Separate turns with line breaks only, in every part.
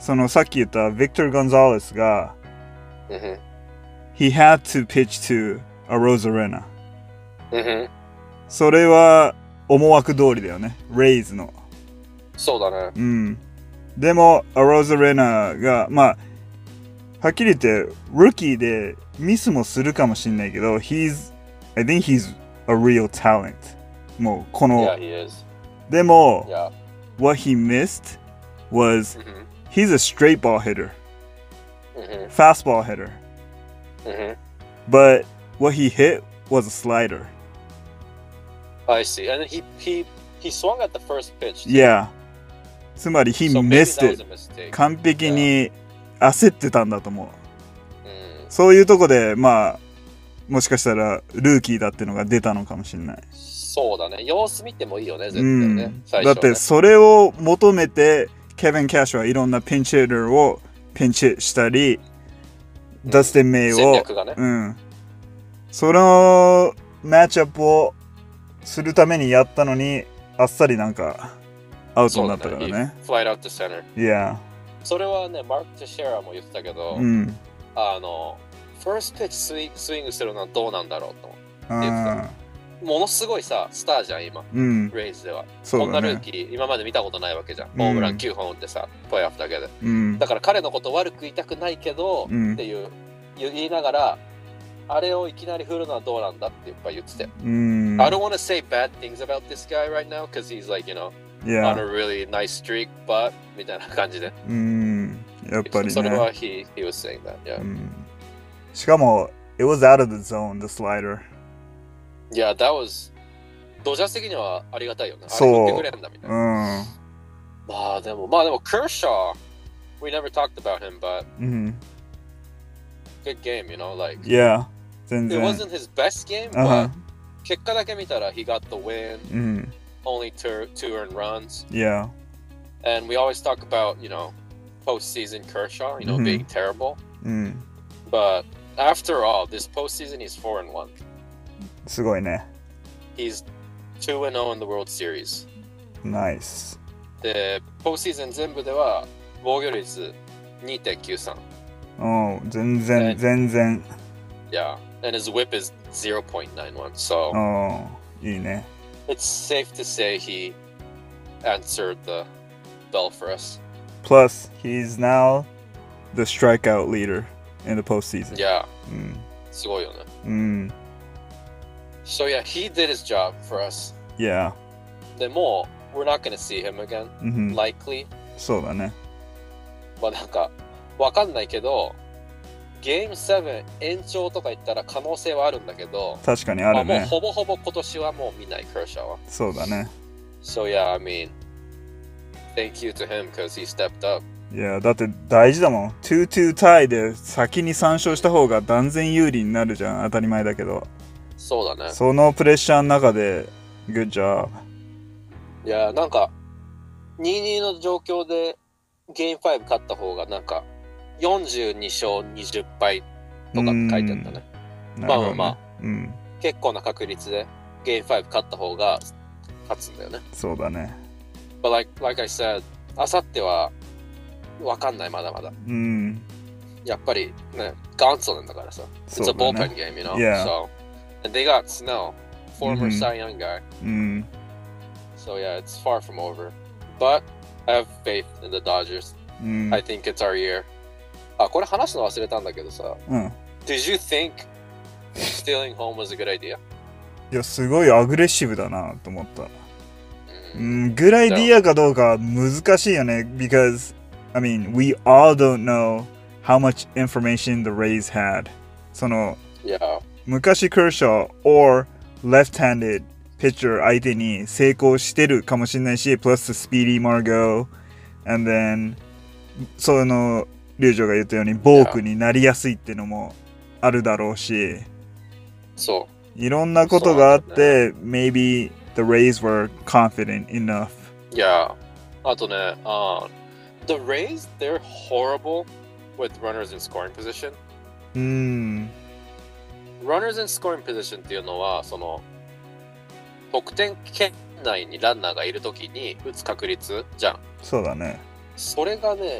そのさっき言ったビクトル・ゴンザレスが、
Mhm.
he had to pitch to Arozarena.
Mhm.
それは思惑通りだよね。レイズの。
そうだね。
うん。でも、Arozarenaが、まあ、はっきり言って、ルーキーでミスもするかもしれないけど、I think he's a real talent. もう、この、
Yeah, he is.
でも、
Yeah.
what he missed was,
Mhm.
he's a straight ball hitter,
Mhm.
fastball hitter.
Mhm.
But what he hit was a slider.
I see. And then he swung at the first pitch.
Yeah. つまり he
So maybe
missed
that was
it.
a mistake.
完璧に焦ってたんだと思う。
うん。
そういうとこで、まあ、もしかしたらルーキーだってのが出たのかもしれない。
そうだね。様子見てもいいよね、絶対
う
ね。
ん。
最初ね。
だってそれを求めて、ケビン・キャッシュはいろんなピンチヒッターをピンチしたり、ダスティン・メイを、
戦略がね。
うん。そのマッチアップをするためにやったのに、あっさりなんかアウトになったからね。
Flight out to center.
Yeah.
それはね、マーク・テシェラも言ってたけど、
うん。
ファーストピッチスイングするのはどうなんだろうと思って
あ
ものすごいさ、スターじゃん、今、
うん。
レイズでは。
そうだね。
こんなルーキー、今まで見たことないわけじゃん。ホームラン9本打ってさ、プレーオフだけで。
うん。
だから彼のこと悪く言いたくないけど、
うん
っていう言いながら、あれをいきなり振るのはどうなんだってやっぱ言ってて。
うん。
I don't want to say bad things about this guy right now because he's like, you know, on a
Yeah.
really nice streak, but みたいな感じで。
うん。やっぱりね。
それはhe was saying that, yeah.
うん。しかも、it was out of the zone, the slider.
Yeah, that was ドジャース的にはありがたいよね。
そう
あれ振ってくれるんだみたいな。
うん。
まあでも、Kershaw, we never talked about him, but
うん。
good game, you know, like,
Yeah. 全
it
然。
wasn't his best game,
あは
but 結果だけ見たら he got the win,
うん。
only two earned runs,
Yeah.
and we always talk about, you know, postseason Kershaw, you know,
Mhm.
being terrible,
うん。
but after all, this postseason he's 4-1.
すごいね。
He's 2-0 in the World Series.
ナイス。
で、ポストシーズン全部では防御率 2.93.
うん。全然、
ね
全然。
Yeah, and his whip is 0.91. So
うん。いいね。
it's safe to say he answered the bell for us.
Plus, he's now the strikeout leader in the postseason.
Yeah,
うん。
すごいよね。
うん。
So yeah, he did his job for us.
Yeah.
でも、we're not going to see him again,
うん。
likely.
そうだね。
まあなんか、わかんないけど、ゲーム7延長とか言ったら可能性はあるんだけど、
確かにあるね。
まあもうほぼほぼ今年はもう見ない、ケルシャーは。
そうだね。
So yeah, I mean, thank you to him because he stepped up.
いや、だって大事だもん。2-2タイで先に3勝した方が断然有利になるじゃん。当たり前だけど。
そうだね。
そのプレッシャーの中で、Good job。
いや、なんか、2-2の状況でゲーム5勝った方がなんか、42勝20敗とかって書いてあったね。まあまあまあ、
うん。
結構な確率でゲーム5勝った方が勝つんだよね。
そうだね。
But like I said, あさってはわかんない、まだまだ。
うん。
やっぱりね、ガンツなんだからさ。
そ
It's
う
a
だ
bullpen
ね。
game, you know?
Yeah.
So, and they got Snell, former
Mhm.
Cy Young guy.
うん。
So yeah, it's far from over. But I have faith in the Dodgers.
うん。
I think it's our year. あ、これ話すの忘れたんだけどさ。
うん。
Did you think stealing home was a good idea?
いや、すごいアグレッシブだなと思った。う
うん
ん、グライディアかどうか難しいよね。Because, I mean, we all don't know how much information the Rays had. その、
Yeah.
昔クーシャー or left-handed pitcher 相手に成功してるかもしれないし、plus Speedy Margot, and then そのリュウジョが言ったようにボークになりやすいっていうのもあるだろうし、
そ
いろんなことがあって、maybe the Rays were confident enough.
う。Yeah. あとね、the Rays, they're horrible with runners in scoring position.
うーん、
runners in scoring position っていうのは、その、得点圏内にランナーがいるときに打つ確率じゃん。
そうだね。
それがね、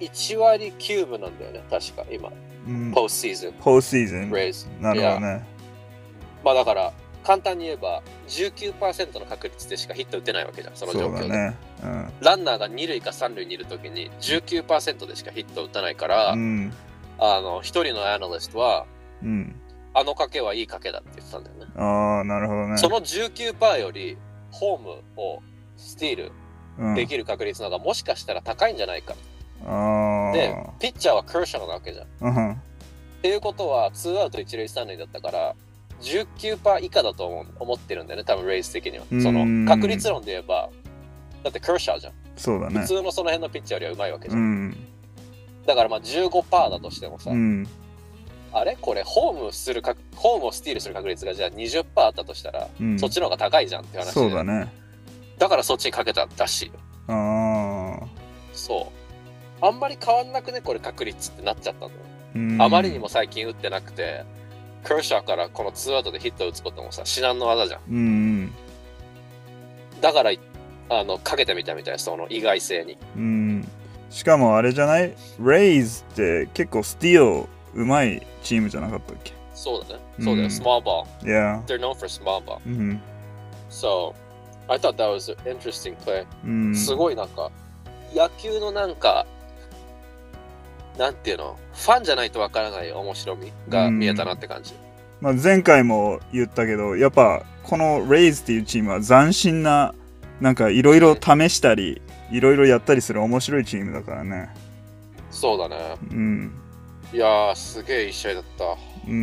1割9分なんだよね、確か今。ポストシーズン。
ポストシーズン。
レイズ。
なるほどね。
まあだから、簡単に言えば 19% の確率でしかヒット打てないわけじゃん、その状況で。
そうだね。
ランナーが2塁か3塁にいるときに 19% でしかヒット打たないから、一人のアナリストは、あの賭けはいい賭けだって言ってたんだよね。
ああ、なるほどね。
その 19% よりホームをスティールできる確率の方がもしかしたら高いんじゃないか。で、ピッチャーはクーシャーなわけじゃん。っていうことは、2アウト1塁3塁だったから、19% 以下だと思ってるんだよね、多分レイズ的には。その確率論で言えば、だってクーシャーじゃん。
そうだね。
普通のその辺のピッチャーよりはうまいわけじゃん。だからまあ 15% だとしてもさ、あれこれホームをスティールする確率がじゃあ 20% あったとしたら、そっちの方が高いじゃんって話で。
そうだね。
だからそっちにかけたらしいよ。そう。あんまり変わんなくね、これ確率ってなっちゃったんだよ。あまりにも最近打ってなくて、クーシャーからこの2アウトでヒットを打つこともさ、至難の技じゃん。だから、かけてみたみたい、その意外性に。
しかもあれじゃない？レイズって結構スティールうまいチームじゃなかったっけ？
そうだね。そうだよ、small ball.
Yeah.
They're known for small ball. So, I thought that was an interesting play. すごいなんか、野球のなんか、なんていうの、ファンじゃないとわからない面白みが見えたなって感じ。
まあ、前回も言ったけど、やっぱこのレイズっていうチームは斬新な、なんかいろいろ試したり、いろいろやったりする面白いチームだからね。
そうだね。いやー、すげえいい試合だった。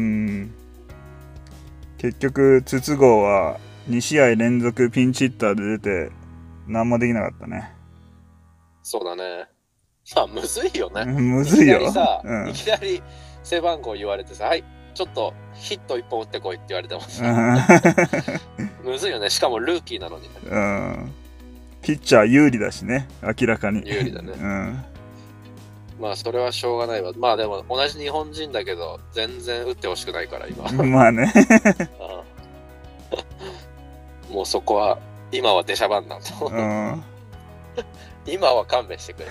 結局、筒香は2試合連続ピンチヒッターで出て、何もできなかったね。
そうだね。まあ、むずいよね。
むずいよ。
いきなり背番号言われてさ、はい、ちょっとヒット1本打ってこいって言われてもさ。むずいよね。しかもルーキーなのにね。
ピッチャー有利だしね、明らかに。
有利だね。まあ、それはしょうがないわ。まあ、でも同じ日本人だけど、全然打ってほしくないから、今。
まあね。
もうそこは、今は出しゃばんなんと。今は勘弁してくれ。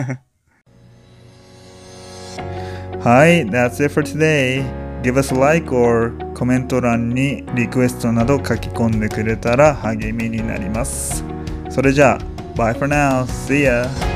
はい、that's it for today. Give us a like or コメント欄にリクエストなど書き込んでくれたら励みになります。それじゃあ、Bye for now. See ya!